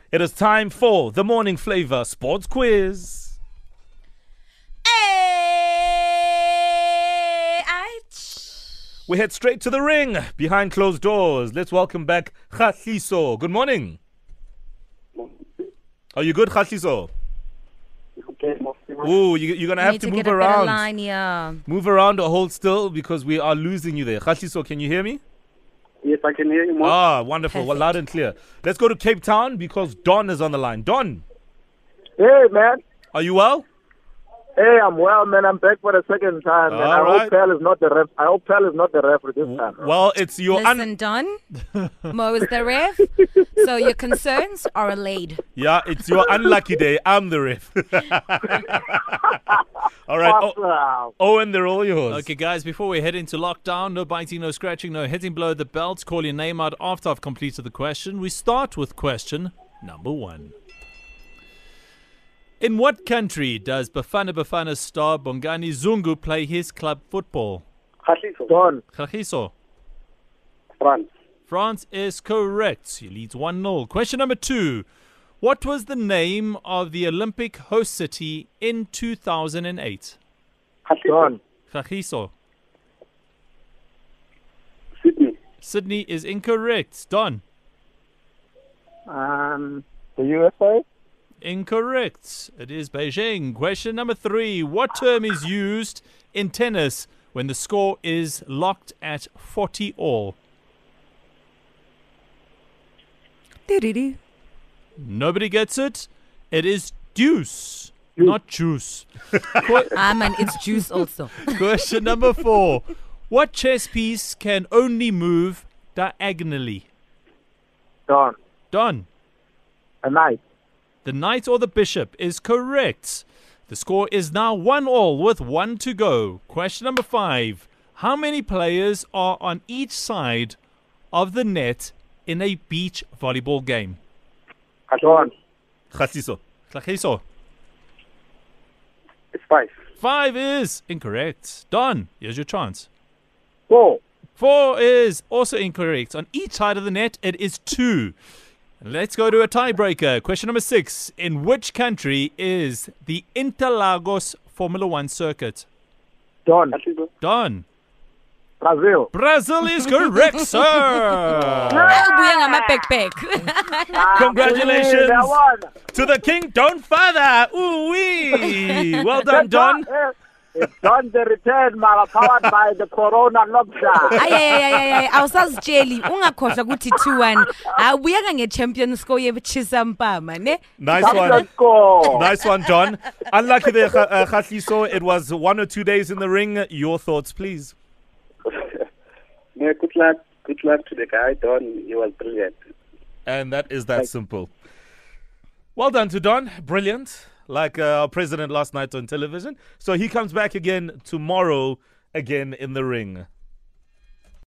It is time for the Morning Flavor Sports Quiz. We head straight to the ring behind closed doors. Let's welcome back Kgatliso. Good morning. Are you good, Kgatliso? Ooh, you're going to have to move around. Line, yeah. Move around or hold still because we are losing you there. Kgatliso, can you hear me? Yes, I can hear you, Mo. Ah, wonderful. Well, loud and clear. Let's go to Cape Town because Don is on the line. Don, Hey, man. are you well? Hey, I'm well, man. I'm back for the second time, man. I All hope Pell is not the ref. I hope Pell is not the referee this time. Well, it's your... Listen, Don. Mo is the ref. So your concerns are allayed. Yeah, it's your unlucky day. I'm the ref. All right. Awesome. Owen, they're all yours. Okay, guys, before we head into lockdown, no biting, no scratching, no hitting below the belt. Call your name out after I've completed the question. We start with question number 1. In what country does Bafana Bafana star Bongani Zungu play his club football? Kgatliso. Don. Kgatliso. France. France is correct. He leads 1-0. Question number 2. What was the name of the Olympic host city in 2008? Kgatliso. Don. Kgatliso. Sydney. Sydney is incorrect. Don. The USA. Incorrect. It is Beijing. Question number 3. What term is used in tennis when the score is locked at 40 all? Nobody gets it. It is deuce, not juice. Man, it's juice also. Question number 4. What chess piece can only move diagonally? Don. Don. A knight. The knight or the bishop is correct. The score is now 1-1 with 1 to go. Question number 5. How many players are on each side of the net in a beach volleyball game? Don. Kgatliso. Kgatliso. It's 5. 5 is incorrect. Don, here's your chance. 4. 4 is also incorrect. On each side of the net, it is 2. Let's go to a tiebreaker. Question number 6. In which country is the Interlagos Formula 1 circuit? Don. Kgatliso. Don. Brazil. Brazil is correct, sir. Ubuya ngama-backpack. Congratulations That one. to the king, Don Father. Ooh-wee. Well done, Don. It's Don the return, man, powered by the Corona lockdown. Ay awusazitsheli ungakhohlwa ukuthi 2-1 awubuyanga nge-champion score yechisampama ne. Nice That's one. the score. Nice one, Don. Unlucky there, Kgatliso. It was 1 or 2 days in the ring. Your thoughts, please. Yeah, good luck. Good luck to the guy, Don. He was brilliant. And that is that simple. Well done to Don. Brilliant. Like our president last night on television. So he comes back again tomorrow, again in the ring.